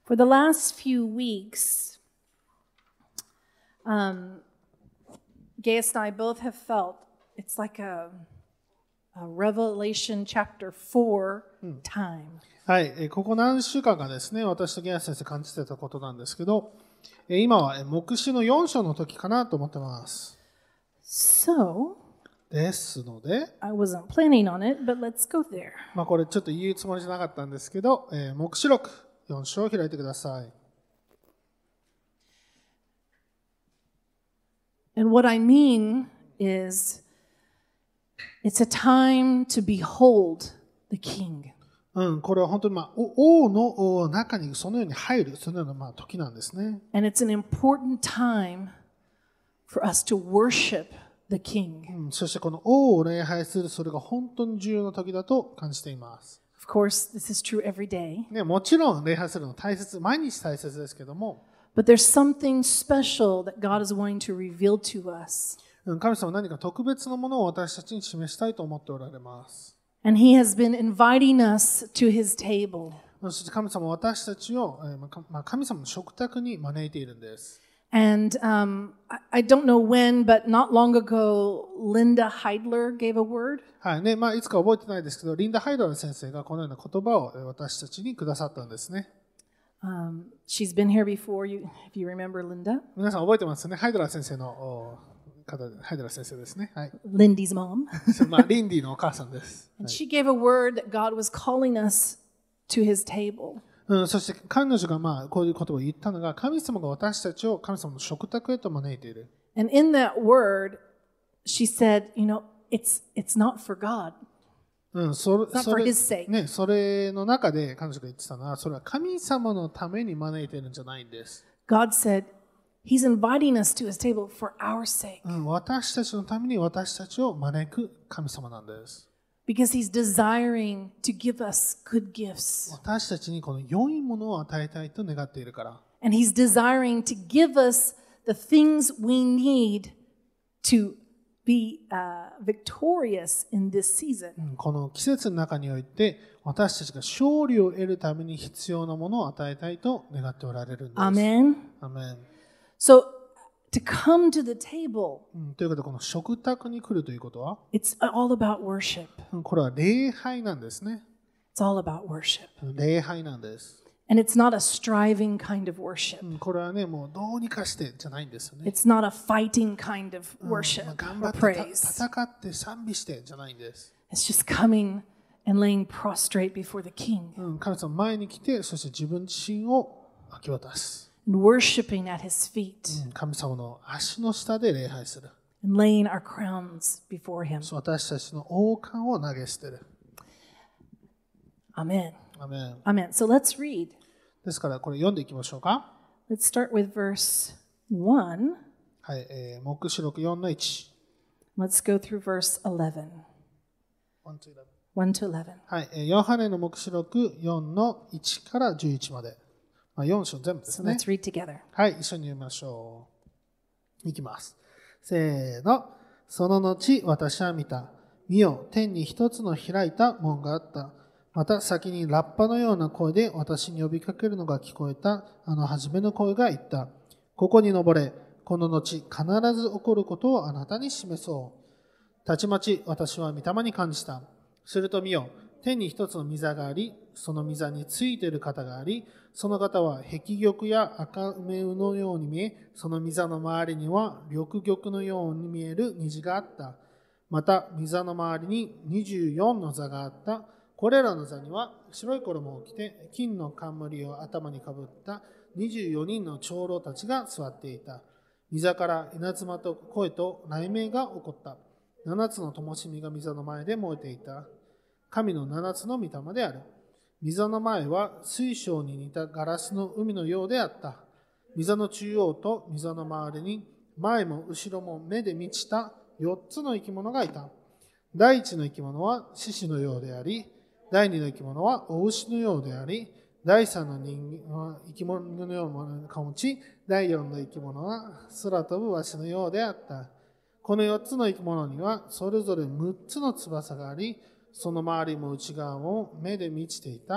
For the last few weeks, Gaius and I both have felt it's like a Revelation chapter 4 time. はい、ここ何週間かですね、私とゲア先生感じてたことなんですけど、今は黙示の4章の時かなと思ってます。 So, ですので、 I wasn't planning on it, but let's go there. これちょっと言うつもりじゃなかったんですけど、黙示録4章を開いてください。 And what I mean is, it's a time to behold the King. これは本当に、王の中にそのように入る、そのような時なんですね。 And it's an important time for us to worship the King. そしてこの王を礼拝する、それが本当に重要な時だと感じています。 Of course, this is true every day. ね、もちろん礼拝するの大切、毎日大切ですけども、 But there's something special that God is wanting to reveal to us. 神様は何か特別なものを私たちに示したいと思っておられます。 And He has been inviting us to His table. そして神様は私たちを神様の食卓に招いているんです。 And I don't know when, but not long ago, Linda Heidler gave a word. はいね、いつか覚えてないですけど、リンダ・ハイドラー先生がこのような言葉を私たちにくださったんですね。 She's been here before, if you remember Linda. 皆さん覚えてますね。ハイドラー先生の方で、ハイドラー先生ですね。はい。 Lindy's mom. リンディのお母さんです。 And she gave a word that God was calling us to His table. そして彼女がこういう言葉を言ったのが、神様が私たちを神様の食卓へと招いている。 And in that word, she said, it's not for God. そ It's not for His sake. ね、それの中で彼女が言ってたのは、それは神様のために招いているんじゃないんです。 God said, He's inviting us to His table for our sake. 私たちのために私たちを招く神様なんです。 Because He's desiring to give us good gifts. 私たちにこの良いものを与えたいと願っているから。 And He's desiring to give us the things we need to be victorious in this season. この季節の中において私たちが勝利を得るために必要なものを与えたいと願っておられるんです。 Amen. アメン。 So, to come to the table, ということで、この食卓に来るということは、 it's all about worship. これは礼拝なんですね。 It's all about worship. 礼拝なんです。 And it's not a striving kind of worship. これはね、もうどうにかしてじゃないんですよね。 It's not a fighting kind of worship 頑張 or って praise. 戦って賛美してじゃないんです。 It's just coming and laying prostrate before the King 神様前に来て、そして自分自身を明け渡す。 and worshiping at His feet 神様の足の下で礼拝する。 and laying our crowns before Him. 私たちの王冠を投げ捨てる。 Amen. アメン。 Amen. So let's read. ですからこれ読んでいきましょうか。 Let's start with verse 1. はい、黙示録4の1。 Let's go through verse 11. 1 to 11. はい、ヨハネの黙示録4の1から11まで。4章全部です So ね。 let's read together. はい、一緒に読みましょう。いきます。せーの。その後、私は見た。見よ、天に一つの開いた門があった。また先にラッパのような声で私に呼びかけるのが聞こえた。初めの声が言った。ここに登れ。この後、必ず起こることをあなたに示そう。たちまち私は御霊に感じた。すると見よ、天に一つの御座があり、その御座についている方があり、その方は碧玉や赤梅のように見え、その御座の周りには緑玉のように見える虹があった。また、御座の周りに24の座があった。これらの座には白い衣を着て、金の冠を頭にかぶった24人の長老たちが座っていた。御座から稲妻と声と雷鳴が起こった。7つの灯火が御座の前で燃えていた。神の7つの御霊である。御座の前は水晶に似たガラスの海のようであった。御座の中央と御座の周りに前も後ろも目で満ちた4つの生き物がいた。第一の生き物は獅子のようであり、第二の生き物は大牛のようであり、第三の生き物のような顔を持ち、第四の生き物は空飛ぶワシのようであった。この4つの生き物にはそれぞれ6つの翼があり、その周りも内側も目で満ちていた。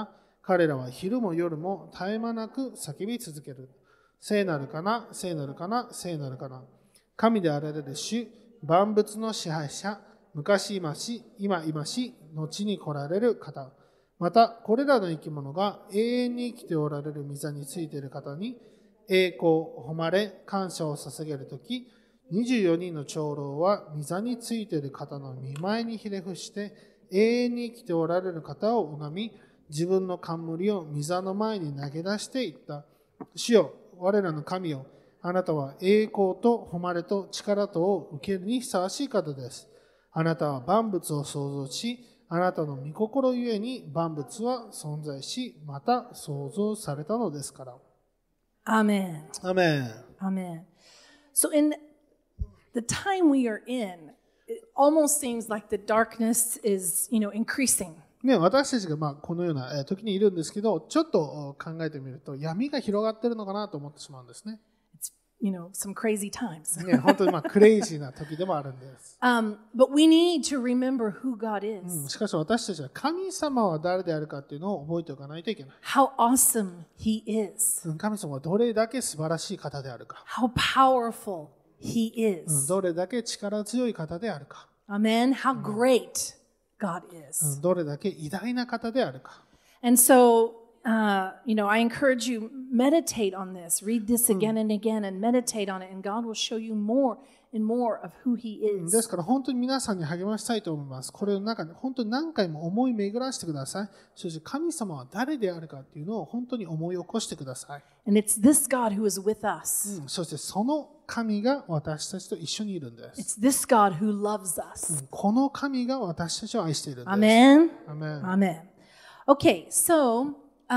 彼らは昼も夜も絶え間なく叫び続ける。聖なるかな、聖なるかな、聖なるかな。神であられる主、万物の支配者、昔今し、今今し、後に来られる方。また、これらの生き物が永遠に生きておられる御座についている方に、栄光、誉れ、感謝を捧げるとき、24人の長老は御座についている方の御前にひれ伏して、永遠に生きておられる方を拝み、自分の冠を御座の前に投げ出していった。主よ、我らの神よ、あなたは栄光と誉れと力とを受けるにふさわしい方です。あなたは万物を創造し、あなたの御心ゆえに万物は存在し、また創造されたのですから。 Amen. アメン。 Amen. So in the time we are in, it almost seems like the darkness is, increasing. ね、私たちがこのような時にいるんですけど、ちょっと考えてみると闇が広がっているのかなと思ってしまうんですね。 It's, some crazy times. ね、本当にクレイジーな時でもあるんです。 But we need to remember who God し is, かし私たちは神様は誰であるかっていうのを覚えておかないといけない。 how awesome He is, 神様はどれだけ素晴らしい方であるか。 how powerful He is. どれだけ力強い方であるか。 Amen. How great God is. どれだけ偉大な方であるか。 And so, I encourage you, meditate on this. Read this again and again and meditate on it. And God will show you more and more of who He です is. から本当に皆さんに励ましたいと思います。これの中に本当に何回も思い巡らしてください。そして神様は誰であるかっていうのを本当に思い起こしてください。 And it's this God who is with us. そしてその神が私たちと一緒にいるんです。 It's this God who loves us. この神が私たちを愛しているんです。 Amen. アメン。 Amen. Okay, so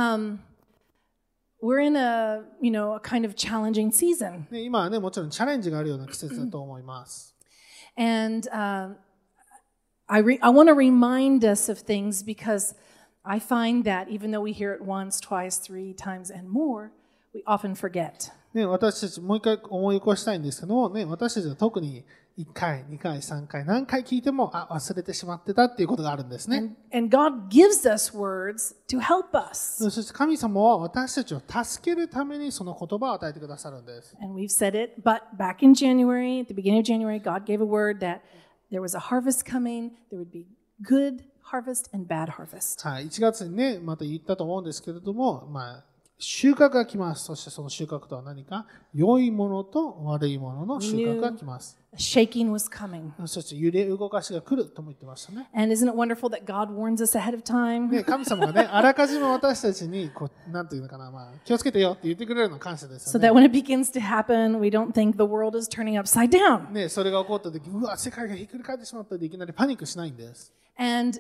we're in a kind of challenging season. ね、今はね、もちろんチャレンジがあるような季節だと思います。 And I want to remind us of things because I find that even though we hear it once, twice, 3 times, and more, we often forget. ね、私たちもう一回思い起こしたいんですけども、ね、私たちは特に1回、2回、3回、何回聞いても忘れてしまってたっていうことがあるんですね。 And God gives us words to help us. そして神様は私たちを助けるためにその言葉を与えてくださるんです。 And we've said it, but back in January, at the beginning of January, God gave a word that there was a harvest coming, there would be good harvest and bad harvest. はい、1月にね、また言ったと思うんですけれども、収穫が来ます。そしてその収穫とは何か、良いものと悪いものの収穫が来ます。 A shaking was coming. そして揺れ動かしが来るとも言ってましたね。 And isn't it wonderful that God warns us ahead of time? ね、神様がね、あらかじめ私たちになんていうのかな、気をつけてよって言ってくれるの感謝ですよ So ね。 that when it begins to happen, we don't think the world is turning upside down. ね、それが起こった時、うわ、世界がひっくり返ってしまったでいきなりパニックしないんです。 And,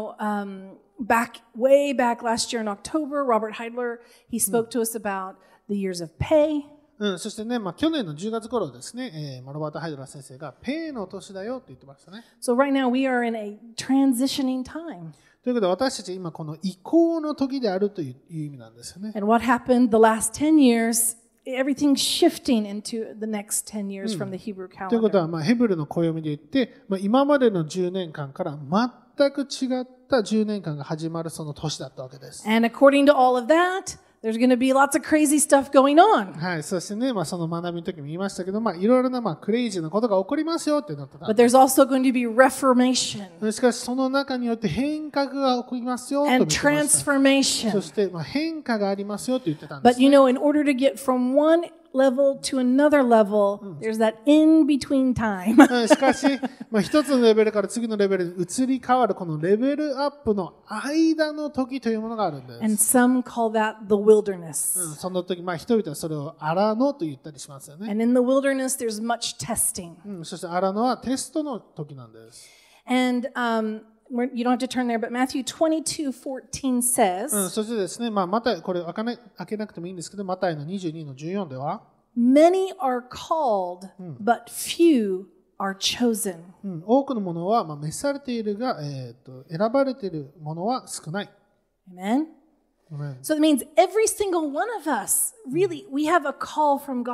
way back last year in October, Robert Heidler, he spoke to us about the years of pay. そしてね、去年の10月頃ですね、ロバート・ハイドラー先生がペイの年だよって言ってましたね。 So right now we are in a transitioning time. ということで私たち今この移行の時であるという意味なんですよね。 And what happened the last 10 years, everything's shifting into the next 10 years from the Hebrew ということ calendar. は、ヘブルの暦で言って、今までの10年間から全く違った10年間が始まるその年だったわけです。 And according to all of that, there's going to be lots of crazy stuff going on. はい、そしてね、その学びの時も言いましたけど、いろいろなクレイジーなことが起こりますよってなってた。 But there's also going to be reformation しかしその中によって変革が起こりますよと言 and ってました。そ transformation. して変化がありますよと言ってたんで But す、ね。 in order to get from one level to another level, there's that in between time. しかし、一つのレベルから次のレベルに移り変わるこのレベルアップの間の時というものがあるんです。 And some call that the wilderness. その時、人々はそれを荒野と言ったりしますよね。 And in the wilderness, there's much testing. そして荒野はテストの時なんです。 And you don't have to turn there, but Matthew 22:14 says, そしてですね、マタイ、これ開けなくてもいいんですけど、マタイの22の14では、 Many are called, but few are chosen. 多くのものは召されているが、選ばれているものは少ない。 Amen? So it means every single one of us, really, we have a call from God.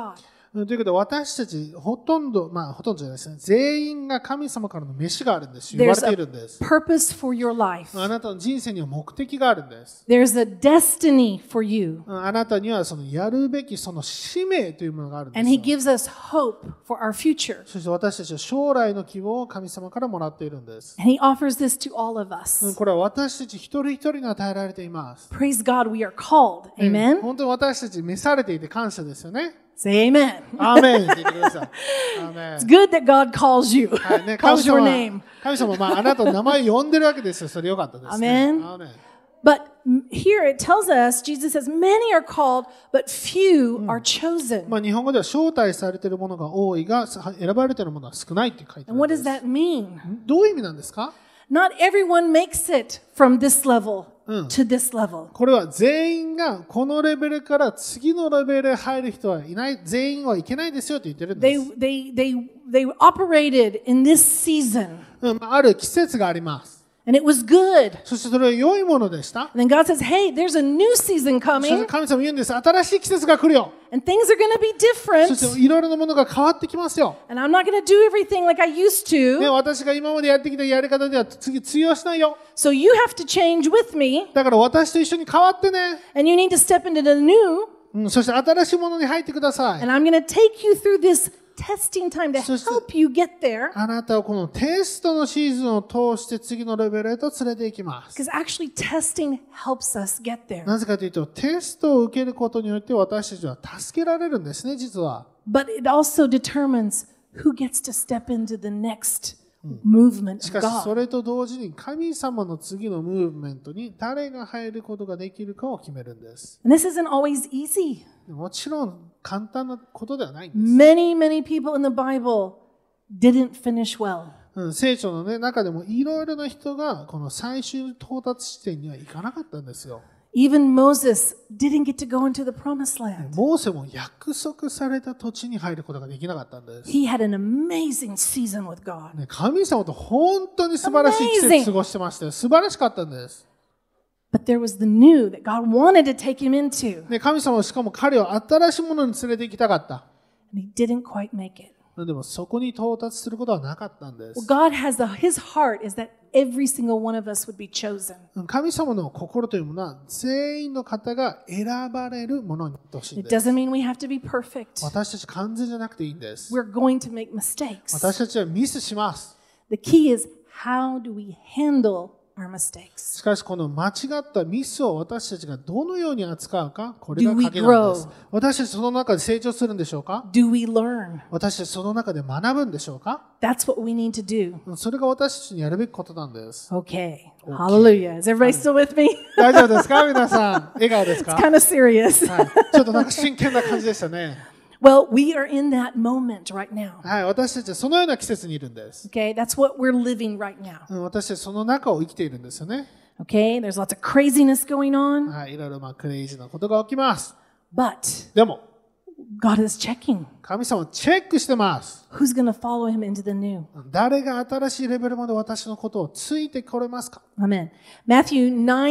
ということで、私たちほとんどじゃないですね。全員が神様からの飯があるんです。言われ There's てい a るんです。 purpose for your life. あなたの人生には目的があるんです。 There's a destiny for you. あなたにはそのやるべきその使命というものがあるんです And He よ。 gives us hope for our future. そして私たちは将来の希望を神様からもらっているんです。 And He offers this to all of us. これは私たち一人一人に与えられています。 Praise God, we are called. Amen? 本当に私たち召されていて感謝ですよね。 Say amen. アーメンって言ってください。アーメン It's good that God calls you, はいね、 calls your name. 神様はあなたの名前を呼んでるわけですよ。それよかったですね。 Amen. アーメン But here it tells us, Jesus says, many are called, but few are chosen. 日本語では招待されているものが多いが、選ばれているものは少ないって書いてあ And るん what で does す。 that mean? どういう意味なんですか？ Not everyone makes it from this level to this level. これは全員がこのレベルから次のレベルへ入る人はいない、全員はいけないですよって言ってるんです。 They operated in this season, ある季節があります。 and it was good. そしてそれは良いものでした。 And then God says, hey, there's a new season そして coming, 神様言うんです。新しい季節が来るよ。 and things are going to be そし different, ていろいろなものが変わってきますよ。 and I'm not going to do everything like I used ね、 to, 私が今までやってきたやり方では次通用しないよ。 so you have to change with me, だから私と一緒に変わってね。 and you need to step into the new, そして新しいものに入ってください。 and I'm going to take you through this testing time to help you get there, あなたをこのテストのシーズンを通して次のレベルへと連れて行きます。 because actually testing helps us get there. なぜかというと、テストを受けることによって私たちは助けられるんですね、実は。 But it also determines who gets to step into the next movement し of かし、そ God. れと同時に神様の次のムーブメントに誰が入ることができるかを決めるんです。 And this isn't always easy. もちろん簡単なことではないんです。 Many people in the Bible didn't finish well. 聖書の、中でもいろいろな人がこの最終到達地点には行かなかったんですよ。 Even Moses didn't get to go into the promised land. モーセも約束された土地に入ることができなかったんです。 He had an amazing season with God. 神様と本当に素晴らしい季節過ごしてましたよ。素晴らしかったんです。 But there was the new that God wanted to take him into. 神様はしかも彼を新しいものに連れて行きたかった。 And he didn't quite make it. でもそこに到達することはなかったんで Well, す。 God has his heart is that every single one of us would be chosen. 神様の心というものは全員の方が選ばれるものになってほしいん It です。 doesn't mean we have to be perfect. 私たち完全じゃなくていいんです。 We're going to make mistakes. 私たちはミスします。 The key is how do we handle our mistakes? しかしこの間違ったミスを私たちがどのように扱うか、これが Do we 鍵なんです grow?。 私たちその中で成長するんでしょうか？ Do we learn? 私たちその中で学ぶんでしょうか？ That's what we need to do. それが私たちにやるべきことなんです。 Okay. Hallelujah. Is everybody still with me? 大丈夫ですか？皆さん、笑顔ですか？ Kind of serious. はい、ちょっとなんか真剣な感じでしたね。 Well, we are in that moment right now. はい、私たちはそのような季節にいるんです。 Okay, that's what we're living right now. 私たちその中を生きているんですよね。 Okay, there's lots of craziness going on, はい、いろいろクレイジーなことが起きます。 but でも、 God is checking 神様はチェックしてます。 who's going to follow him into the new. 誰が新しいレベルまで私のことをついてこれますか？ Amen. Matthew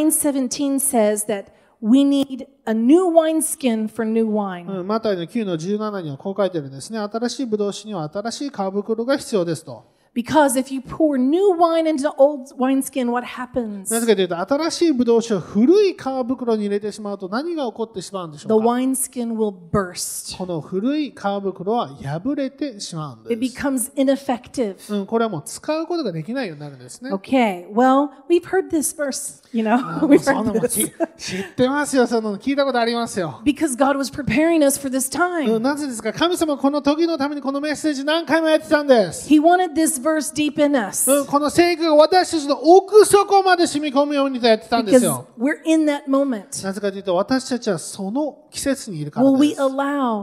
9:17 says that we need a new wineskin for new wine. マタイの9の17にはこう書いてるんですね。新しいブドウ酒には新しい皮袋が必要ですと。 Because if you pour new wine into old wineskin, what happens? なぜかというと、新しいブドウ酒を古い皮袋に入れてしまうと何が起こってしまうんでし The ょうか？ wineskin will burst. この古い皮袋は破れてしまうん It です。 becomes ineffective. これはもう使うことができないようになるんですね。 Okay, well, we've heard this verse, you know. もう We've そんな heard もん this. 知ってますよ。その聞いたことありますよ。 Because God was preparing us for this time. なぜですか？神様はこの時のためにこのメッセージ何回もやってたんです。 He wanted this verse deep in us. この聖句が私たちの奥底まで染み込むようにとやってたんです Because よ。 we're in that moment. なぜかというと、私たちはその季節にいるから Will で we す。 allow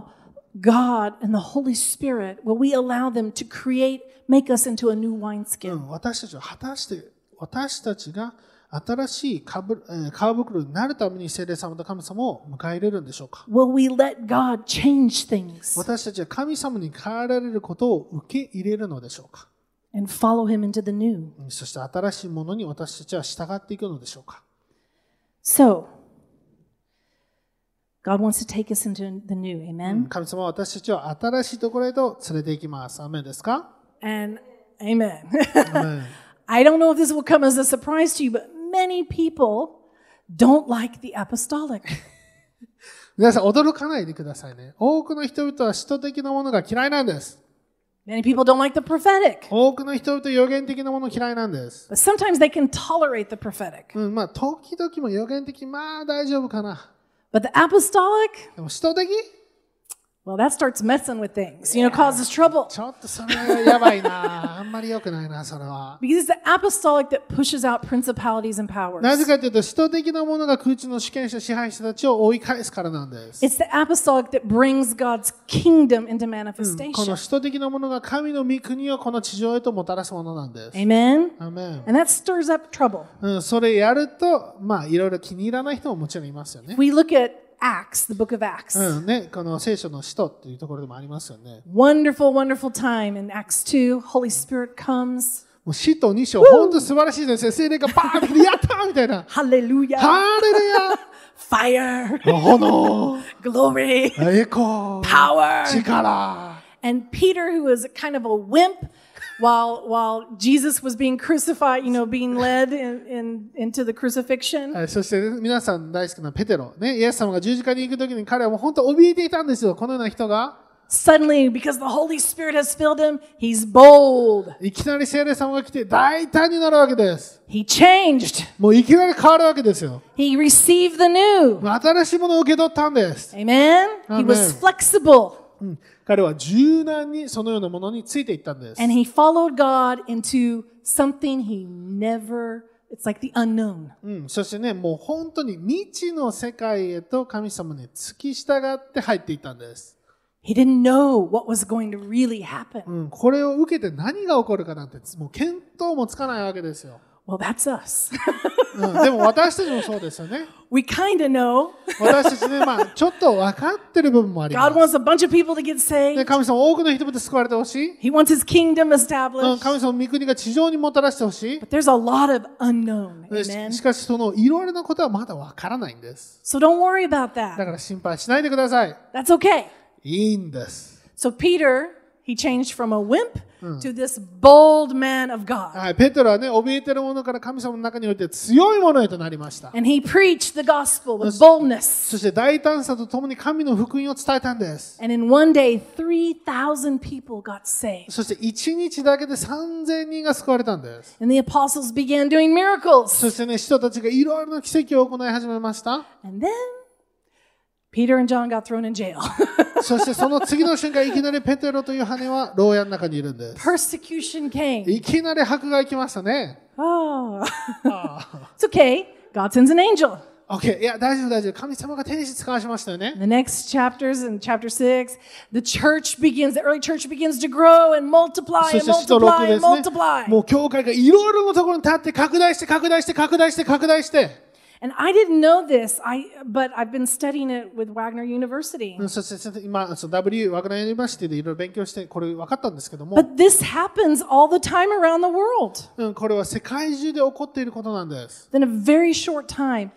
God and the Holy Spirit, will we allow them to make us into a new wineskin? 私たちは果たして、私たちが新しい皮袋になるために聖霊様と神様を迎え入れるんでしょうか？ Will we let God change things 私たちは神様に変えられることを受け入れるのでしょうか？ and follow Him into the new? そして新しいものに私たちは従っていくのでしょうか？ So, God wants to take us into the new. Amen? 神様は私たちを新しいところへと連れて行きます。アーメンですか？ And amen. アーメン I don't know if this will come as a surprise to you, but many people don't like the apostolic. 皆さん驚かないでくださいね。多くの人々は使徒的なものが嫌いなんです。 Many people don't like the prophetic. 多くの人々は予言的なもの嫌いなんです。 But sometimes they can tolerate the prophetic. まあ時々も予言的、まあ大丈夫かな。 But the apostolic, でも使徒的 well, that starts messing with things, causes trouble. ちょっとそれはやばいな。あんまり良くないな、それは。 Because it's the apostolic that pushes out principalities and powers. なぜかというと、使徒的なものが空中の主権者、支配者たちを追い返すからなんです。 It's the apostolic that brings God's kingdom into こ manifestation. の使徒的なものが神の御国をこの地上へともたらすものなんです。 Amen? アーメン And that stirs up trouble. それやると、まあいろいろ気に入らない人ももちろんいますよね。 We look at Acts, the book of Acts. ね、この聖書の使徒っていうところでもありますよね。 Wonderful, wonderful time in Acts 2. Holy Spirit comes. もう使徒2章、本当素晴らしいですね。聖霊がバーンって来て、やったーみたいな。 Hallelujah. ハレルヤ Fire. 炎 Glory. 栄光 Power. 力 And Peter, who was kind of a wimp while Jesus was being crucified, being led into the crucifixion. そして、皆さん大好きなペテロ。ね、イエス様が十字架に行くときに彼はもう本当怯えていたんですよ。このような人が。 Suddenly, because the Holy Spirit has filled him, he's bold. いきなり聖霊様が来て大胆になるわけです。 He changed. もういきなり変わるわけですよ。 He received the new. 新しいものを受け取ったんです。 Amen? He was flexible. 彼は柔軟にそのようなものについていったんです。 And he followed God into something he never, it's like the unknown. そしてね、もう本当に未知の世界へと神様に付き従って入っていったんです。 He didn't know what was going to really happen. これを受けて何が起こるかなんてもう見当もつかないわけですよ。 Well, that's us. でも私たちもそうですよね。 We kind of know. 私たちね、まあちょっと分かってる部分もありま God す。 wants a bunch of people to get で saved. 神様多くの人々救われてほしい。 He wants his kingdom established. 神様の御国が地上にもたらしてほしい。 But there's a lot of unknown. で Amen. しかしそのいろいろなことはまだ分からないんです。 So don't worry about だ that. から心配しないでください。 That's okay. いいんです。 So Peter, he changed from a wimp to this bold man of God. はい、ペテロはね、怯えてるものから神様の中において強いものへとなりました。 And he preached the gospel with boldness. そして大胆さとともに神の福音を伝えたんです。 And in one day, 3,000 people got saved. そして1日だけで3000人が救われたんです。 And the apostles began doing miracles. そしてね、使徒たちがいろいろな奇跡を行い始めました。 And then Peter and John got thrown in jail. そしてその次の瞬間、いきなりペテロとヨハネは牢屋の中にいるんです。 Persecution came. いきなり迫害来ましたね。 Oh. It's okay. God sends an angel. OK。いや、大丈夫、大丈夫。神様が天使使わしましたよね。 The next chapters, in chapter 6, the early church begins to grow and multiply そ and して使徒6 multiply で and すね。 multiply. もう教会がいろいろなところに立って拡大して拡大して拡大して拡大して。 And I didn't know this, but I've been studying it with Wagner University. そして今、W ワグナーユニバーシティでいろいろ勉強してこれ分かったんですけども、 But this happens all the time around the world. これは世界中で起こっていることなんです。 In a very short time,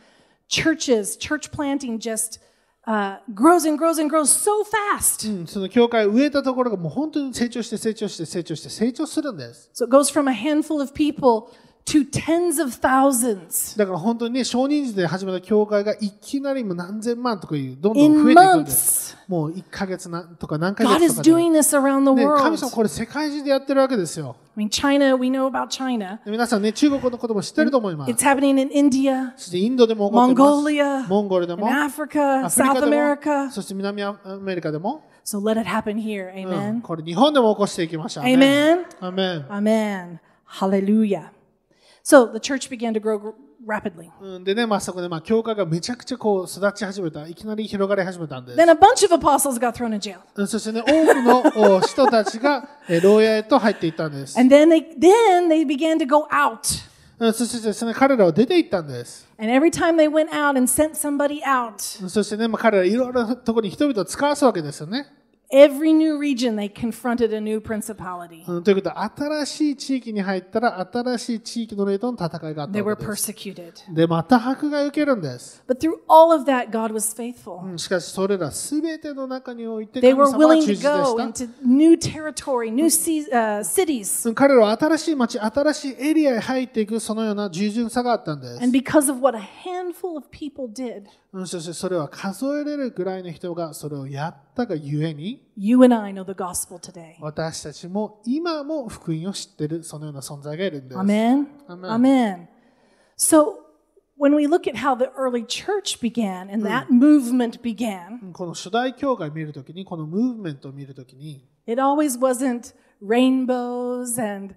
church planting just grows and grows and grows so fast. その教会を植えたところがもう本当に成長して成長して成長して成長するんです。 So it goes from a handful of people to tens of thousands だから本当にね、少人数で始めた教会がいきなりもう何千万とかいうどんどん in 増えていくんです。 months. もう1ヶ月とか何ヶ God 月 is とかで。 doing this around the ね、神 world. 様これ世界中でやってるわけですよ。 I mean, China, we know about China. 皆さんね、中国のことも知ってると思います。 It's happening in India, そしてインドでも起こってます。 Mongolia, モンゴルで in も、 Africa, アフリカ South でも、 America. そして南アメリカでも、 So let it happen here. Amen. これ日本でも起こしていきましょう。 Amen. アメン。 Amen. Hallelujah. So the church began to grow rapidly. でね、そこで教会がめちゃくちゃこう育ち始めた。いきなり広がり始めたんです。 Then a bunch of apostles got thrown in jail. そしてね、多くの人たちが牢屋へと入っていったんです。 And then they began to go out. そしてですね、彼らは出て行ったんです。 And every time they went out and sent somebody out, そしてね、彼らいろいろなところに人々を使わすわけですよね。 every new region, they confronted a new principality. ということは、新しい地域に入ったら、新しい地域の霊との戦いがあった They わ were けです。 persecuted. で、また迫害を受けるんです。 But through all of that, God was faithful. しかし、それらすべての中において、 They 神 were 様は willing 忠 to 実で go した。 into new territory, new cities. 彼らは新しい町、新しいエリアへ入っていく、そのような従順さがあったんです。 And because of what a handful of people did, そしてそれは数えれるぐらいの人がそれをやったがゆえに、 you and I know the gospel today. 私たちも今も福音を知っている、そのような存在がいるんです。 Amen? Amen. Amen. So, when we look at how the early church began and that movement began, この初代教会を見るときに、このムーブメントを見るときに、 it always wasn't rainbows and,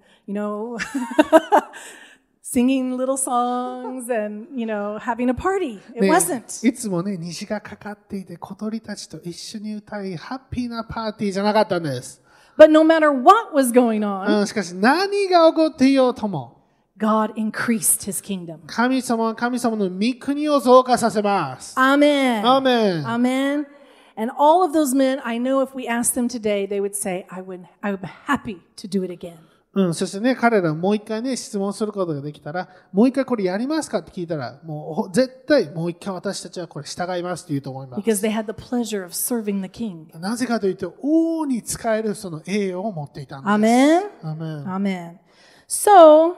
singing little songs and, having a party. It ね wasn't. いつもね、虹がかかっていて、小鳥たちと一緒に歌い、ハッピーなパーティーじゃなかったんです。 But no matter what was going on, しかし何が起こっていようとも、 God increased his kingdom. 神様は神様の御国を増加させます。 Amen. アーメン。 Amen. And all of those men, I know if we asked them today, they would say, I'm happy to do it again. そしてね、彼らもう一回ね、質問することができたら、もう一回これやりますかって聞いたら、もう絶対もう一回私たちはこれ従いますって言うと思います。 Because they had the pleasure of serving the king. なぜかというと、王に仕えるその栄誉を持っていたんです。 Amen. アーメン。 Amen. So,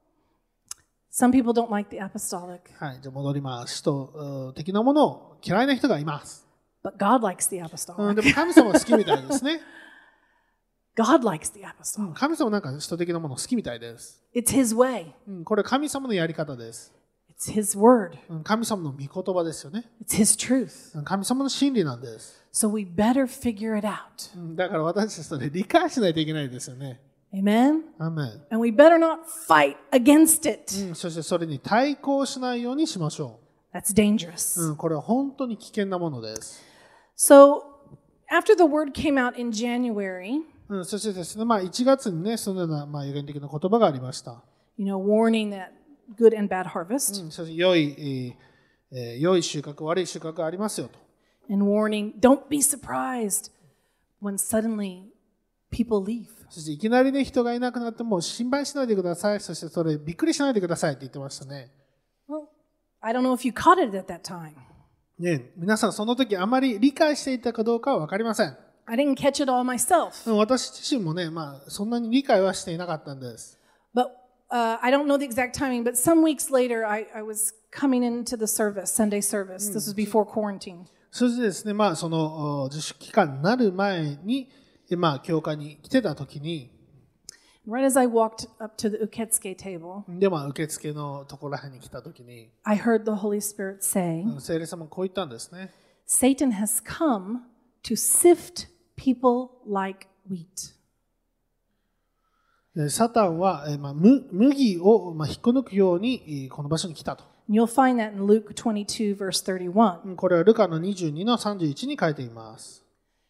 some people don't like the apostolic, はい、じゃあ戻ります。使徒的なものを嫌いな人がいます。 but God likes the で apostolic. も神様は好きみたいですね。 God likes the apostolic. 神様なんか使徒的なもの好きみたいです。 It's his way. これは神様のやり方です。 It's his word. 神様の御言葉ですよね。 It's his truth. 神様の真理なんです。 So we better figure it out. だから私たちそれ理解しないといけないですよね。 Amen. アーメン。 And we better not fight against it. そしてそれに対抗しないようにしましょ That's dangerous. う。これは本当に危険なものです。 So, after the word came out in January, そしてですね、1月にね、そのような予言的な言葉がありました。 warning that good and bad harvest, そして良い収穫、悪い収穫がありますよと。 and warning, don't be surprised when suddenly people leave. そしていきなりね、人がいなくなっても心配しないでください。そしてそれびっくりしないでくださいって言ってましたね。 Well, I don't know if you caught it at that time. ね、皆さんその時あまり理解していたかどうかは分かりません。 I didn't catch it all myself. 私自身もね、そんなに理解はしていなかったんです。 But I don't know the exact timing, but some weeks later, I was coming into the service, Sunday service. This was before quarantine. そしてですね、その自粛期間になる前に、教会に来てた時に、 Right as I walked up to the uketsuke table, で、受付のところらへんに来た時に、 I heard the Holy Spirit say, 聖霊様こう言ったんですね。 Satan has come to sift people like wheat. サタンは、麦を引っこ抜くようにこの場所に来たと。 You'll find that in Luke 22, verse 31. これはルカの22の31に書いています。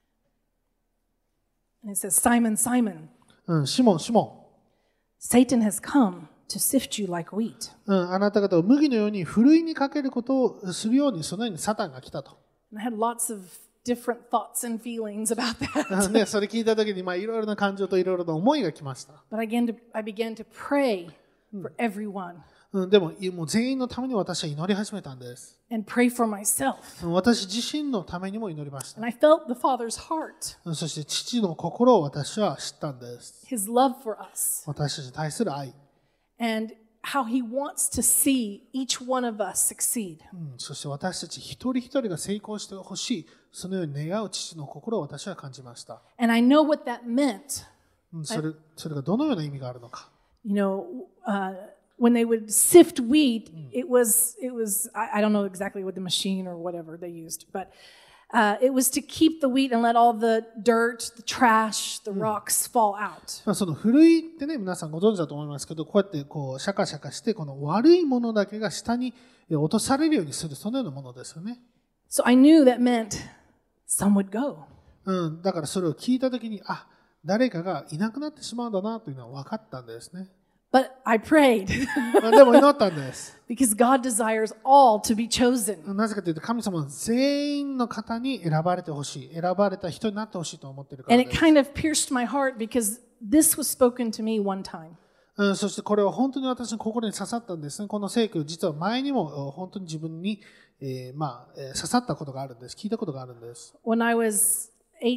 And it says, Simon, Simon, シモン、シモ Satan has come to sift you like wheat. ン、あなた方を麦のようにふるいにかけることをするように、そのようにサタンが来たと。 And I had lots of different thoughts and feelings about that. ね、それ聞いたときに、いろいろな感情といろいろな思いが来ました。 But I began to pray for everyone でも、もう全員のために私は祈り始めたんです。 and pray for myself. 私自身のためにも祈りました And。I felt the Father's heart, そして父の心を私は知ったんです。 His love for us, 私たちに対する愛。 and how He wants to see each one of us succeed. そして私たち一人一人が成功してほしい、そのように願う父の心を私は感じました。 And I know what that meant. それがどのような意味があるのか。 When they would sift wheat, it was I don't know exactly what the machine or whatever they used, but it was to keep the wheat and let all the dirt, the trash, the rocks fall out. そのふるいってね、皆さんご存知だと思いますけど、こうやってシャカシャカして、この悪いものだけが下に落とされるようにする、そのようなものですよね。 So I knew that meant some would go. だからそれを聞いたときに、誰かがいなくなってしまうんだなというのは分かったんですね。 But I prayed でも祈ったんです。 because God desires all to be chosen. なぜかというと、神様は全員の方に選ばれてほしい。選ばれた人になってほしいと思っているから And で it す。 kind of pierced my heart because this was spoken to me one time. そしてこれは本当に私の心に刺さったんですね。この聖句、実は前にも本当に自分に、刺さったことがあるんです。聞いたことがあるんです。 When I was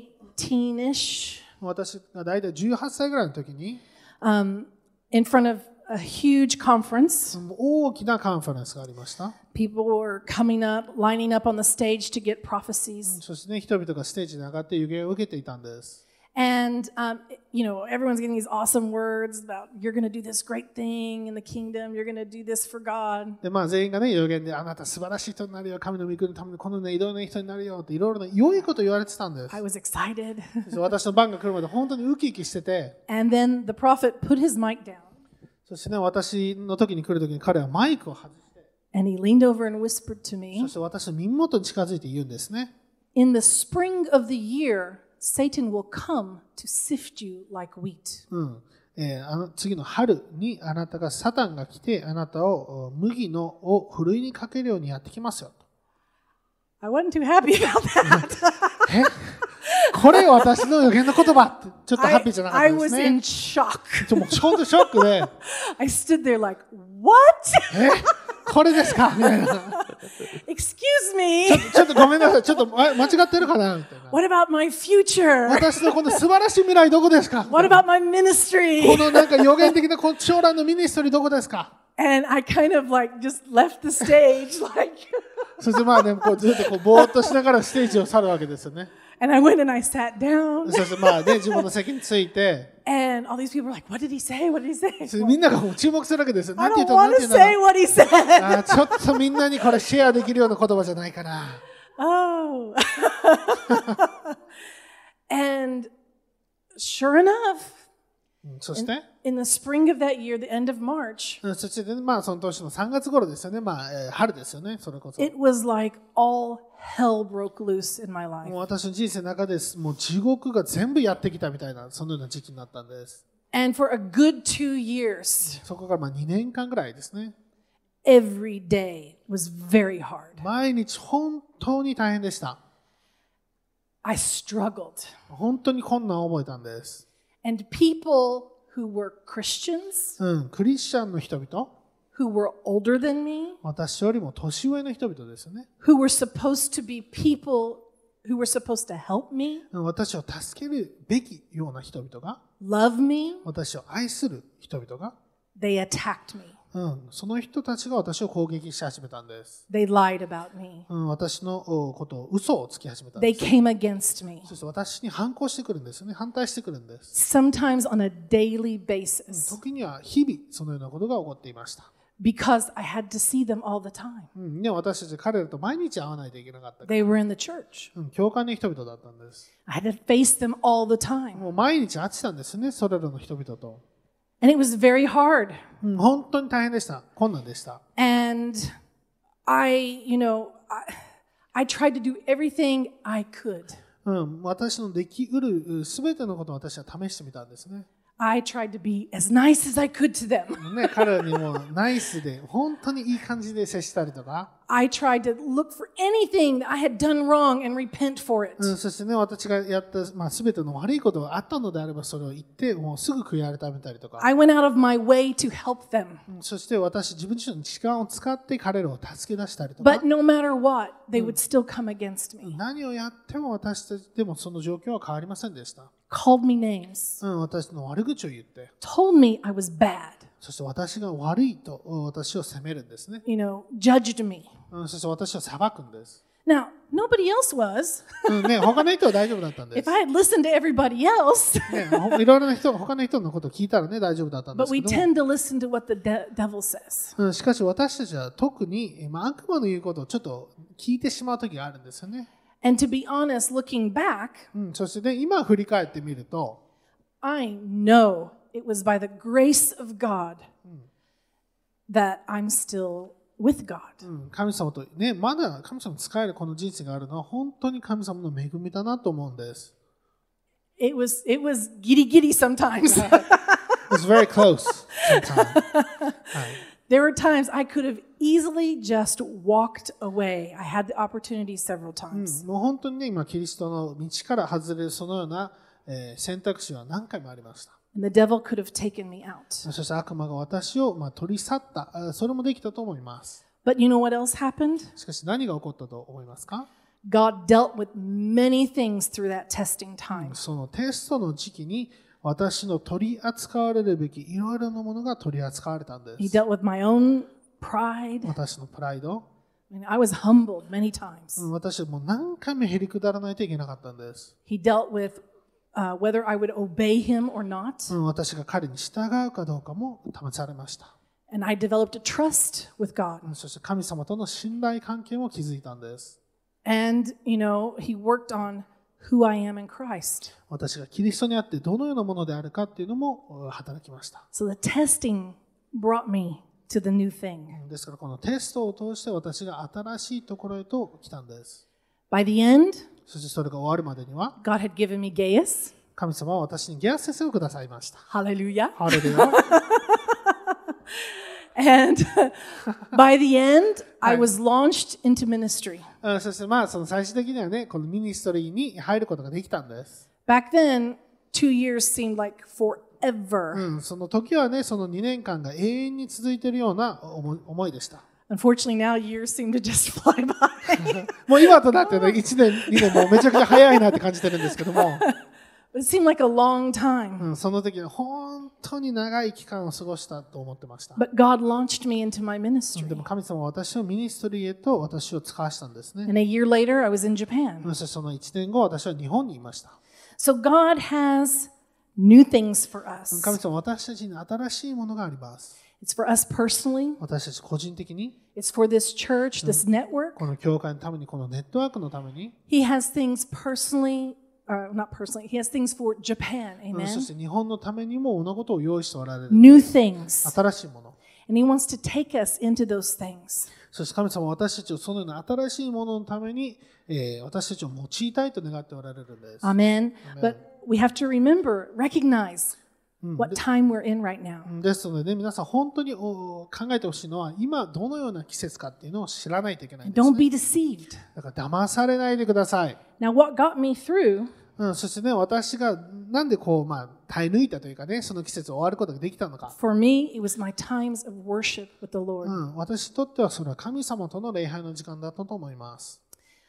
18-ish, 私が大体18歳ぐらいの時に、 in front of a huge conference, 大きなカンファレンスがありました。 people were coming up, lining up on the stage to get prophecies. そしてね、人々がステージに上がって予言を受けていたんです。 And, everyone's getting these awesome words about you're going to do this great thing in the kingdom, you're going to do this for God. で、全員がね、予言で、あなた素晴らしい人になるよ、神の御国のためにこのね、偉大な人になるよっていろいろな良いこと言われてたんです。 I was excited. 私の番が来るまで本当にウキウキしてて、 And then the prophet put his mic down そしてね、私の時に来る時に彼はマイクを外して、 and he leaned over and whispered to そ me, して私の耳元に近づいて言うんですね。 in the spring of the year, Satan will come to sift you like wheat. 次の春にあなたがサタンが来てあなたを麦のをふるいにかけるようにやってきますよ。 I wasn't too happy about that. これ私の予言の言葉ってちょっとハッピーじゃなかった I です was ね。 in shock. もうちょっとショックで、 I stood there like, what? これですかみたいな。 Excuse me. ちょっとごめんなさい。ちょっと間違ってるかなみたいな。 What about my future? 私のこの素晴らしい未来どこですか What about my ministry? このなんか予言的なこの将来のミニストリーどこですか And I kind of like just left the stage like そしてね、こうずっとこうぼーっとしながらステージを去るわけですよね。 and I went and I sat down そして自分の席について、 and all these people were like, what did he say? What did he say? みんながもう注目するわけですよ。な I んて言 don't ったの want なんて to 言う say の what he said. ちょっとみんなにこれシェアできるような言葉じゃないかな。 Oh. And sure enough, そして、 in the spring of that year, the end of March, そしてその年の3月頃ですよね。春ですよね。それこそ。 it was like all hell broke loose in my もう life. 私の人生の中でもう地獄が全部やってきたみたいなそのような時期になったんです。 And for a good 2 years, そこから2年間ぐらいですね。 every day was very hard. 毎日本当に大変でした。 I struggled. 本当に困難を覚えたんです。 And people who were Christians, クリスチャンの人々、 who were older than me, 私よりも年上の人々ですよね。 who were supposed to be people who were supposed to help me, 私を助けるべきような人々が、 love me, 私を愛する人々が、 they attacked me. その人たちが私を攻撃し始めたんです。 They lied about me. 私のことを嘘をつき始めたん They です。 came against me. そして私に反抗してくるんですよね。反対してくるんです。 Sometimes on a daily basis 時には日々そのようなことが起こっていました。 because I had to see them all the time. で私たち彼らと毎日会わないといけなかったから。 They were in the church. 教会の人々だったんです。 I had to face them all the time. もう毎日会ってたんですね。それらの人々と。 And it was very hard. 本当に大変でした。困難でした。 And I tried to do everything I could. 私のできうるすべてのことを私は試してみたんですね。 I tried to be as nice as I could to them. 彼らにもナイスで本当にいい感じで接したりとか。 I tried to look for anything that I had done wrong and repent for it. そしてね、私がやったすべての悪いことがあったのであればそれを言ってもうすぐ悔い改めたりとか。 I went out of my way to help them. そして自分自身の時間を使って彼らを助け出したりとか。 But no matter what, they would still come against me. 何をやっても私たちでもその状況は変わりませんでした。 Called me names. 私の悪口を言って。 Told me I was bad. そして私が悪いと私を責めるんですね。 Judged me. そして私を裁くんです。 Now, nobody else was. 他の人は大丈夫だったんです。 If I had listened to everybody else. いろいろな人、他の人のことを聞いたらね、大丈夫だったんで But す we けど tend to listen to what the devil says. しかし私たちは特に悪魔の言うことをちょっと聞いてしまう時があるんですよね。 And to be honest, looking back, そしてね、今振り返ってみると、 I know it was by the grace of God that I'm still with God. 神様とね、まだ神様に仕えるこの人生があるのは本当に神様の恵みだなと思うんです。 It was giddy giddy sometimes. It's very close. sometime. はい。 There were times I could have easily just walked away. I had the opportunity several うん times. もう本当にね、今、キリストの道から外れるそのような、選択肢は何回もありました。 And the devil could have taken me out. そして悪魔が私を、取り去った、それもできたと思います。 But you know what else happened? しかし何が起こったと思いますか？ God dealt with many things through that testing time. そのテストの時期に私の取り扱われるべきいろいろなものが取り扱われたんで He す。 dealt with my own pride. 私のプライド、 I mean, I was humbled many times. 私はもう何回もへりくだらないといけなかったんです。 He dealt with whether I would obey him or not. 私が彼に従うかどうかも試されました。 And I developed a trust with God. そして神様との信頼関係も築いたんです。 And, you know, he worked on who I am in Christ. 私がキリストにあってどのようなものであるかっていうのも働きました。 So the testing brought me to the new thing. ですからこのテストを通して私が新しいところへと来たんです。 By the end, そしてそれが終わるまでには God had given me Gaius. 神様は私にゲアス先生をくださいました。 Hallelujah. ハレルヤ。 And by the end, I was launched into ministry. そしてその最終的にはね、このミニストリーに入ることができたんです。 Back then, 2 years seemed like forever. その時はね、その2年間が永遠に続いているような思いでした。 Unfortunately, now years seem to just fly by. もう今となってね、1年、2年もうめちゃくちゃ早いなって感じてるんですけども、 But it seemed like a long time. その時は本当に長い期間を過ごしたと思ってました。 But God launched me into my ministry. でも神様は私をミニストリーへと私を使わしたんですね。 And a year later, I was in Japan. そしてその1年後、私は日本にいました。 So God has new things for 神 us. 様は私たちに新しいものがあります。 It's for us personally. 私たち個人的に、 It's for this church, this network. この教会のために、このネットワークのために、 He has things personally, not personally, He has things for Japan. そ Amen. して日本のためにも物事を用意しておられる。 New things. 新しいもの。 And He wants to take us into those things. そして神様は私たちをそのような新しいもののために、私たちを用いたいと願っておられるんです。 Amen. But we have to remember, recognize what time we're in right now. ですのでね、皆さん本当に考えてほしいのは、今どのような季節かっていうのを知らないといけないんです、 Don't ね。 be deceived. だから騙されないでください。 Now, what got me through そしてね、私がなんで耐え抜いたというかね、その季節を終わることができたのか。 for me, it was my times of worship with the Lord. 私にとってはそれは神様との礼拝の時間だったと思います。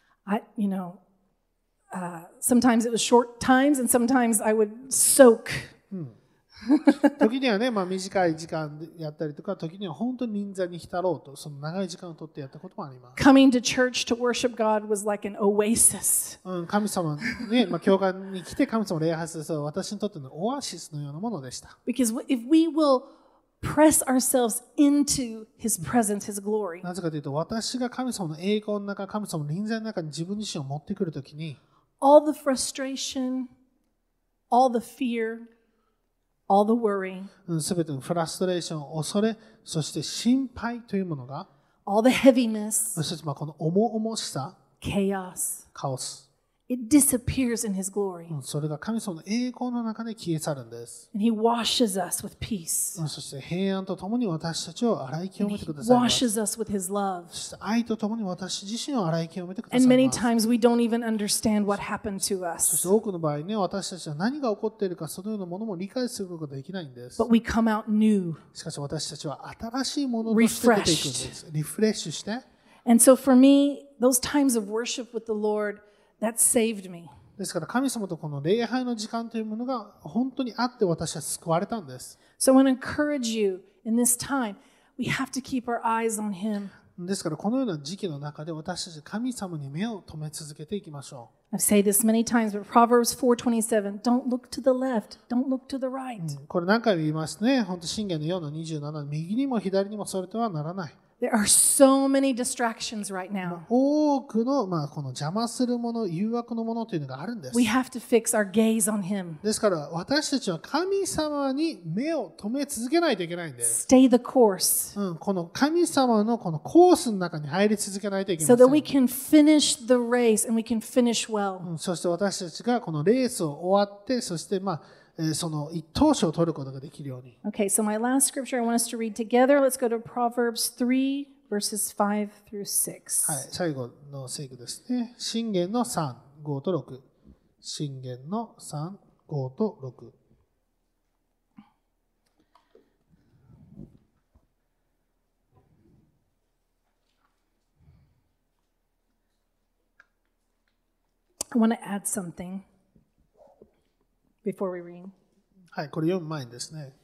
Sometimes it was short times, and sometimes I would soak. 時にはね、短い時間でやったりとか、時には本当に臨座に浸ろうと、その長い時間をとってやったこともあります。 Coming to church to worship God was like an oasis. 神様ね、教会に来て神様を礼拝するそれは私にとってのオアシスのようなものでした。 Because if we will press ourselves into His presence, His glory, なぜかというと、私が神様の栄光の中、神様の臨在の中に自分自身を持ってくるときに、 all the frustration, all the fear, all the worry, すべてのフラストレーション、恐れ、そして心配というものが、 all the heaviness, そしてこの重々しさ、 chaos, カオス、 it disappears in His glory. それが神様の栄光の中で消え去るんです。 And He washes us with peace. そして平安とともに私たちを洗い清 And めて He くださいます。 washes us with His love. そして愛とともに私自身を洗い清めてくださ And い many ます。 times we don't even understand what happened to そし us. て多くの場合ね、私たちは何が起こっているか、そのようなものも理解することができないんです。 But we come out new. しかし私たちは新しいものとして出ていくんです。リフレッシュして。 And so for me, those times of worship with the Lord, that saved me. ですから神様とこの礼拝の時間というものが本当にあって私は救われたんです。 So I want to encourage you in this time, we have to keep our eyes on Him. ですからこのような時期の中で私たち神様に目を留め続けていきましょ I've said this many times, but Proverbs 4:27, don't look to the left, don't look to the right. う。これ何回も言いますね。本当信玄の4の27、右にも左にもそれてはならない。 There are so many distractions right now. 多くの、この邪魔するもの、誘惑のものというのがあるんです。 We have to fix our gaze on Him. ですから私たちは神様に目を留め続けないといけないんです。 Stay the course この神様のこのコースの中に入り続けないといけ so ませ that we ん。 can finish the race and we can finish well. そして私たちがこのレースを終わって、そしてその一等賞を取ることができるように。 Okay, so my last scripture I want us to read together. Let's go to Proverbs 3, verses 5 through 6. はい、最後の聖句ですね。箴言の3、5と6。箴言の3、5と6。 I want to add something before we read. はい、これ読む前にですね。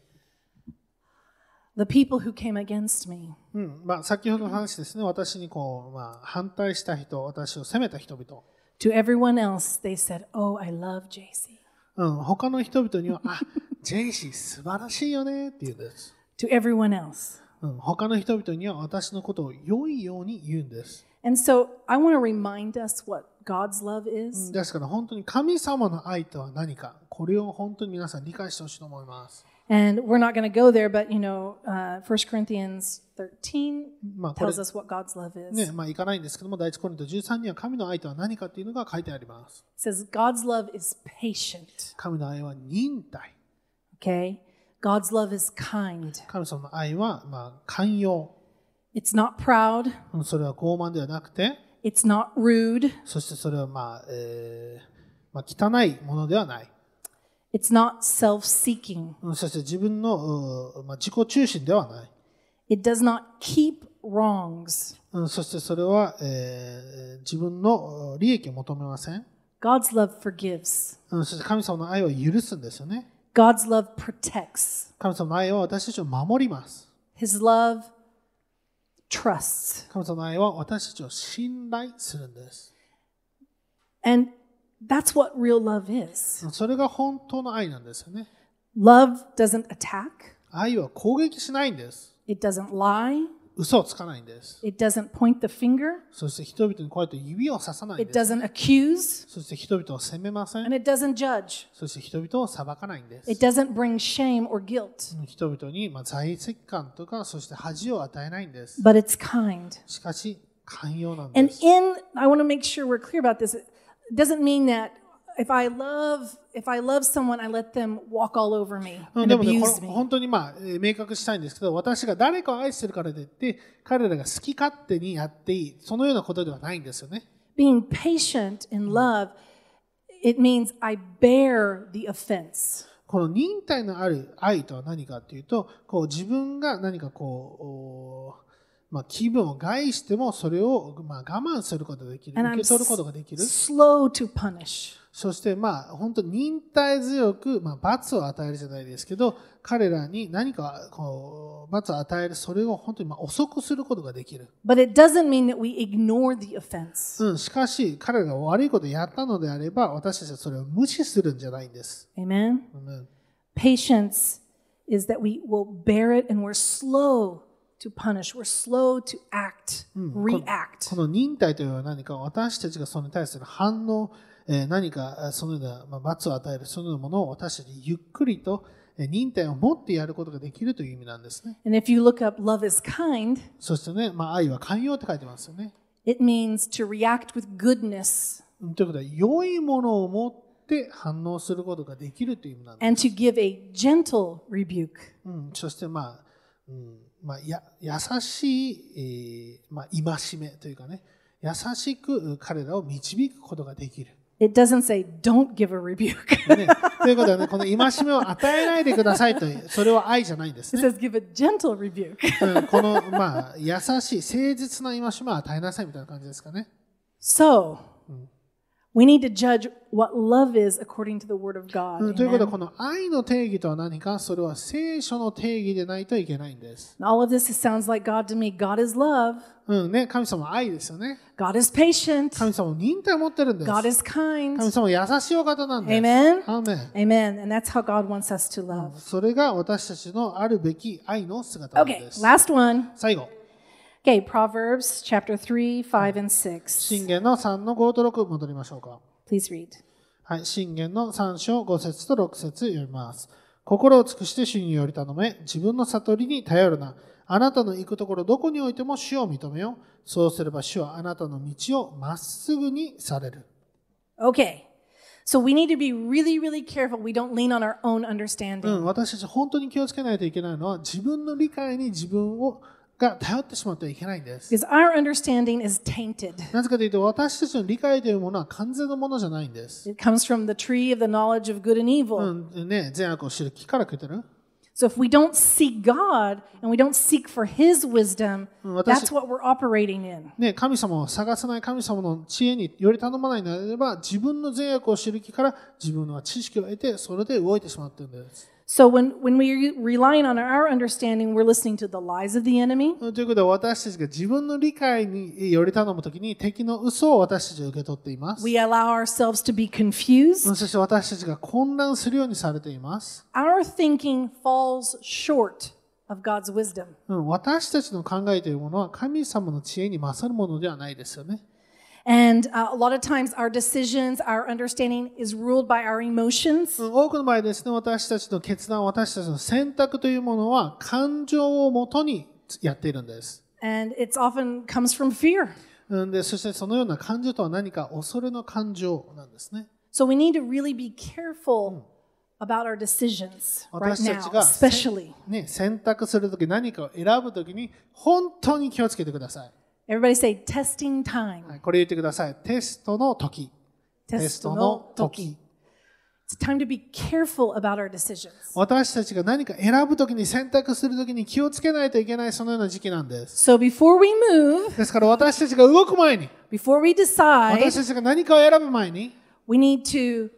The people who came against me. 先ほどの話ですね。私に反対した人、私を責めた人々。 To everyone else, they said, "Oh, I love JC." 他の人々には、ジェイシー素晴らしいよねって言うんです。 To everyone else. 他の人々には私のことを良いように言うんです。 And so I want to remind us what God's love is. ですから本当に神様の愛とは何か、これを本当に皆さん理解してほしいと思います。 And we're not going to go there, but 1 Corinthians 13 tells us what God's love is. 行かないんですけども、第一コリント13には神の愛とは何かっていうのが書いてあります。 It says God's love is patient. 神の愛は忍耐。 Okay? God's love is kind. 神様の愛は寛容。 It's not proud. それは傲慢ではなくて、 It's not rude. そしてそれは汚いものではない。 It's not self-seeking. そして自分の自己中心ではない。 It does not keep wrongs. そしてそれは自分の利益を求めません。 God's love forgives. そして神様の愛は許すんですよね。 God's love protects. 神様の愛は私たちを守ります。 His love trusts. 神様の愛は私たちを信頼するんです。 And that's what real love is. それが本当の愛なんですよね。 Love doesn't attack. 愛は攻撃しないんです。 It doesn't lie. 嘘をつかないんです。 It doesn't point the finger. そして人々にこうやって指をささないん It です。 doesn't accuse. そして人々を責めません。 And it doesn't judge. そして人々を裁かないんです。 It doesn't bring shame or guilt. 人々に罪責感とか、そして恥を与えないんです。 But it's kind. しかし、寛容なん And です。 I want to make sure we're clear about this. It doesn't mean that if I love someone, I let them walk all over me で and もね、 abuse me. 本当に明確したいんですけど、私が誰かを愛してるからといって、彼らが好き勝手にやっていい、そのようなことではないんですよね。 Being patient in love, it means I bear the offense. この忍耐のある愛とは何かというと、自分が何か気分を害してもそれを我慢することができる、 And 受 I'm け取ることができる。 slow to punish. そして本当に忍耐強く罰を与えるじゃないですけど、彼らに何か罰を与える、それを本当に遅くすることができる。 But it doesn't mean that we ignore the offense. しかし彼らが悪いことをやったのであれば、私たちはそれを無視するんじゃないんです。 Amen? うん Patience is that we will bear it and we're slow to punish. We're slow to act, こ react. の忍耐というのは何か、私たちがそれに対する反応、何かそのような罰を与える、そのようなものを私たちゆっくりと忍耐を持ってやることができるという意味なんですね。 And if you look up love is kind, そしてね、愛は寛容って書いてますよね。 it means to react with goodness ということは、良いものを持って反応することができるという意味なんです。 and to give a gentle rebuke. そして優しい、戒めというかね、優しく彼らを導くことができる。 It doesn't say don't give a rebuke. ということはね、この戒めを与えないでくださいという、それは愛じゃないんですね。 It says give a gentle rebuke. この優しい誠実な戒めを与えなさいみたいな感じですかね。 So, we need to judge what love is according to the Word of God. ということは、 Amen? この愛の定義とは何か、それは聖書の定義でないといけないんです。 And all of this sounds like God to me. God is love. 神様は愛ですよね。 God is patient. 神様は忍耐を持ってるんです。 God is kind. 神様は優しいお方なんです。 Amen? アーメン。 Amen. And that's how God wants us to love. それが私たちのあるべき愛の姿なん Okay, です。 last one. 最後、 Okay, Proverbs chapter 3, 5, and 6. 箴言の3の5と6戻りましょうか。 Please read. はい、箴言の3章5節と6節読みます。心を尽くして主により頼め、自分の悟りに頼るな。あなたの行くところどこにおいても主を認めよう。そうすれば主はあなたの道をまっすぐにされる。 Okay. So we need to be really, really careful we don't lean on our own うん、 understanding. 私たち本当に気をつけないといけないのは自分の理解に自分が頼ってしまってはいけないんです。 Because our understanding is tainted. なぜかというと私たちの理解というものは完全なものじゃないんです。 It comes from the tree of the knowledge of good and evil. うんね、善悪を知る木から来てる。 So if we don't seek God and we don't seek for His wisdom, that's what we're operating in. ね、神様を探さない神様の知恵により頼まないのであれば自分の善悪を知る木から自分の知識を得てそれで動いてしまっているんです。 So when we're relying on our understanding, we're listening to the lies of the enemy. ということで私たちが自分の理解により頼むときに敵の嘘を私たちは受け取っています。 We allow ourselves to be confused. そして私たちが混乱するようにされています。 Our thinking falls short of God's wisdom. 私たちの考えというものは神様の知恵に勝るものではないですよね。 And a lot of times our decisions, our understanding is ruled by our emotions. 多くの場合ですね、私たちの決断、私たちの選択というものは感情をもとにやっているんです。 And it often comes from fear. で、そしてそのような感情とは何か恐れの感情なんですね。 So we need to really be careful about our decisions right 私た now, ちが、 especially. ね、選択するとき何かを選ぶときに本当に気をつけてください。 Everybody say testing time. はい、これ言ってください。テストの時。テストの時。 It's time to be careful about our decisions. 私たちが何か選ぶときに選択するときに気をつけないといけないそのような時期なんです。 So before we move, ですから私たちが動く前に、 before we 私 decide, たちが何かを選ぶ前に、 we need to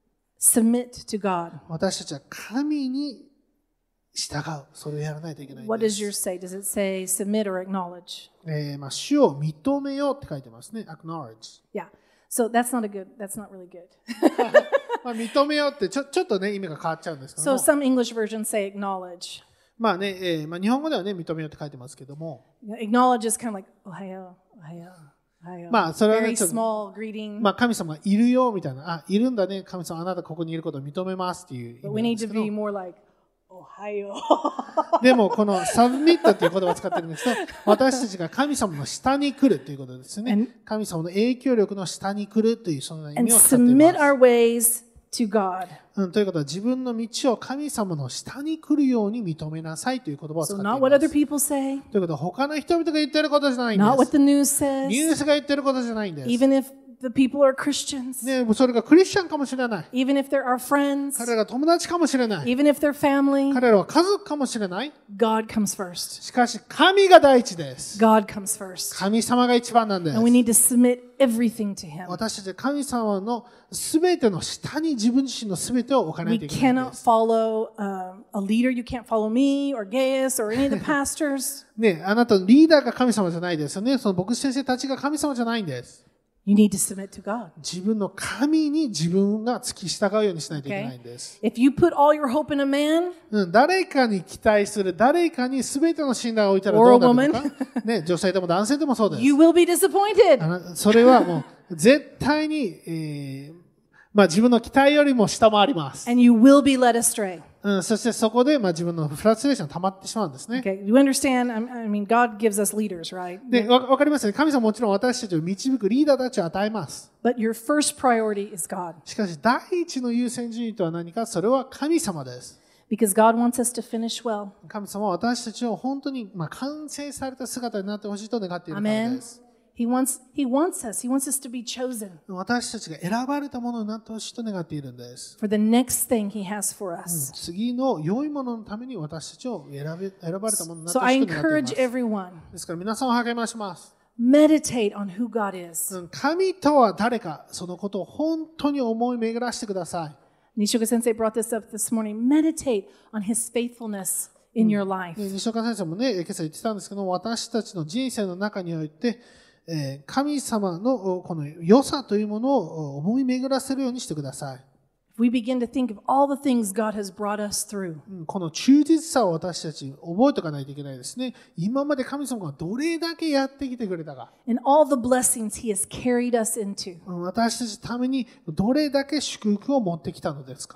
submit to God. 私たちは神に従う。それをやらないといけないん What で does す。 yours say? Does it say submit or acknowledge? 主を認めようって書いてますね。acknowledge。 Yeah. So that's not really good. 認めようってちょっとね、意味が変わっちゃうんですけど So も。 some English versions say acknowledge. まあね、日本語ではね、認めようって書いてますけども。 Acknowledge is kind of like, ohayo, ohayo, ohayo. まあ、それはね、 Very ちょっと small greeting. まあ、神様がいるよみたいな、あ、いるんだね、神様、あなたここにいることを認めますっていう意 But we 味なん need です to けど be more like, ohayo. でも、このサブミットっていう言葉を使ってるんですけど、私たちが神様の下に来るということですね。神様の影響力の下に来るというそのような意 And 味を使ってい submit ま our ways to God. す。ということは自分の道を神様の下に来るように認めなさいという言葉を使 So ってい not what ま other す。 people say, ということは他の人々が言ってることじゃないん not で what す。 the news ニュー says, スが言ってることじゃないんです。 even if the people are Christians, ね、それがクリスチャンかもしれない。 even if they're our friends, 彼らが友達かもしれない。 even if they're family, 彼らは家族かもしれない。 God comes first. しかし神が第一です。 God comes first. 神様が一番なんです And we need to submit everything to Him. 私たちは神様のすべての下に自分自身のすべてを置かない We といけないん cannot です。 follow a leader. You can't follow me or Gaius or any of the pastors. ね、あなたのリーダーが神様じゃないですよね。その牧師先生たちが神様じゃないんです。 You need to submit to God. 自分の神に自分が付き従うようにしないといけないんです。 If you put all your hope in a man 誰かに期待する、誰かにすべての信頼を置いたらどうなるのか。ね、女性でも男性でもそうです。 you will be disappointed. それはもう絶対に、自分の期待よりも下回ります。 And you will be led astray. そしてそこで自分のフラストレーションが溜まってしまうんですね。 Okay, you understand? I mean, God gives us leaders, right? で、わかりますね。神様もちろん私たちを導くリーダーたちを与えます。 But your first priority is God. しかし、第一の優先順位とは何か、それは神様です。 Because God wants us to finish well. 神様は私たちを本当に完成された姿になってほしいと願っているからで Amen. す。 He wants us to be chosen 私たちが選ばれたものになってほしいと願っているんです。 for the next thing He has for us. 次の良いもののために私たちを選ばれたものになって So ほ I しいと願ってい encourage ます。 everyone, ですから皆さんを励まします。 meditate on who God is. 神とは誰か、そのことを本当に思い巡らしてください。 Nishoka Sensei brought this up this morning. Meditate on His faithfulness in your life. 西岡先生もね、今朝言ってたんですけど、私たちの人生の中において、神様のこの良さというものを思い巡らせるようにしてください。 If we begin to think of all the things God has brought us through, この忠実さを私たち覚えておかないといけないですね。今まで神様がどれだけやってきてくれたか。 and all the blessings He has carried us into. 私たちのためにどれだけ祝福を持ってきたのですか。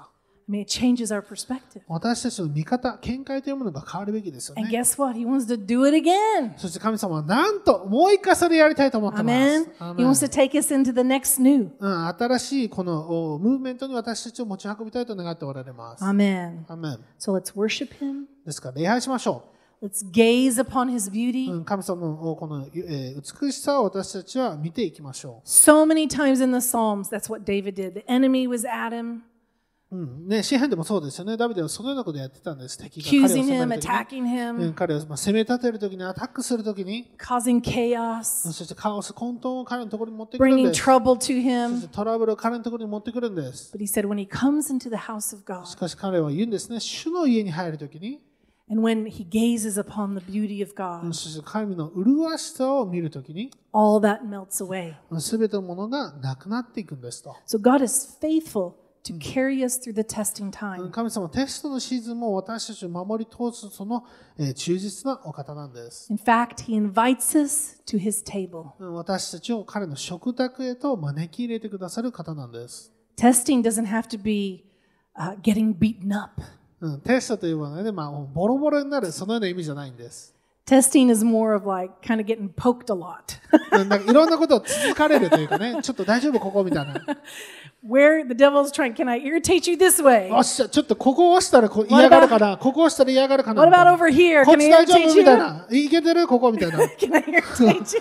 I mean, it changes our perspective. 私たちの見方、見解というものが変わるべきですよ And ね。 guess what? He wants to do it again. そして神様はなんともう一回それやりたいと思ってます。 Amen. アー He メン wants to take us into the next new. 新しいこのムーブメントに私たちを持ち運びたいと願っておられます。 Amen. アーメン So let's worship him. ですから礼拝しましょ Let's gaze upon his う。 beauty. 神様のこの美しさを私たちは見ていきましょ So many times in the Psalms, that's what David did. The enemy was at him, う。ね、詩篇でもそうですよね。ダビデはそのようなことをやってたんです。敵が彼を accusing 責 him, める時に attacking him, 彼を攻め立てるときに、アタックするときに、 causing chaos, そしてカオス、混沌を彼のところに持ってくるん bringing です。 trouble to そし him. てトラブルを彼のところに持ってくるんです。 But he said when he comes into the house of God しかし彼は言うんですね。主の家に入るときに、 and when he gazes upon the beauty of God, そして神の麗しさを見るときに、 all that melts away. すべてのものがなくなっていくんですと。 So God is faithful to carry us through the testing time. 神様はテストのシーズンも私たちを守り通すその忠実なお方なんです。 In fact, he invites us to his table. 私たちを彼の食卓へと招き入れてくださる方なんです。 Testing doesn't have to be getting beaten up. テストというのはね、ボロボロになるそのような意味じゃないんです。 Testing is more of like kind of getting poked a lot. なんかいろんなことを続かれるというかね、ちょっと大丈夫ここみたいな。 Where the devil's trying, can I irritate you this way? よっしゃ、ちょっとここを押したら嫌がるかな、ここを押したら嫌がるかな。 What about over here? こっ Can ち I 大丈 irritate 夫みたい you? な。いけてるここみたいな。 Can I irritate you?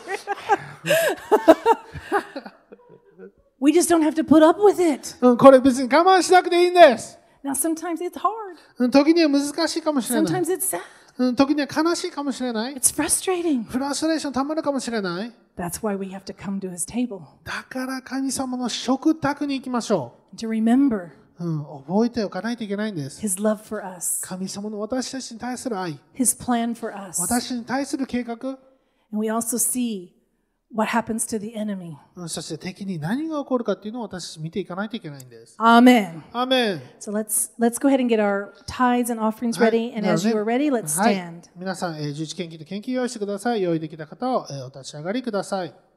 We just don't have to put up with it. これ別に我慢しなくていいんです。 Now, sometimes it's hard. 時には難しいかもしれない Sometimes。it's sad. 時には悲しいかもしれない。 It's frustrating. フラストレーションたまるかもしれない。 That's why we have to come to his table だから神様の食卓に行きましょ to remember う。覚えておかないといけないんです。 his love for us, 神様の私たちに対する愛、 his plan for us. 私に対する計画、 And we also see what happens to the enemy. そして敵に何が起こるかっていうのを私たち見ていかないといけないんです。 Amen. アーメン。 So let's go ahead and get our tithes and offerings はい ready. And as you are ready, let's はい stand. 皆さん、11献金と献金用意してください。用意できた方をお立ち上がりください。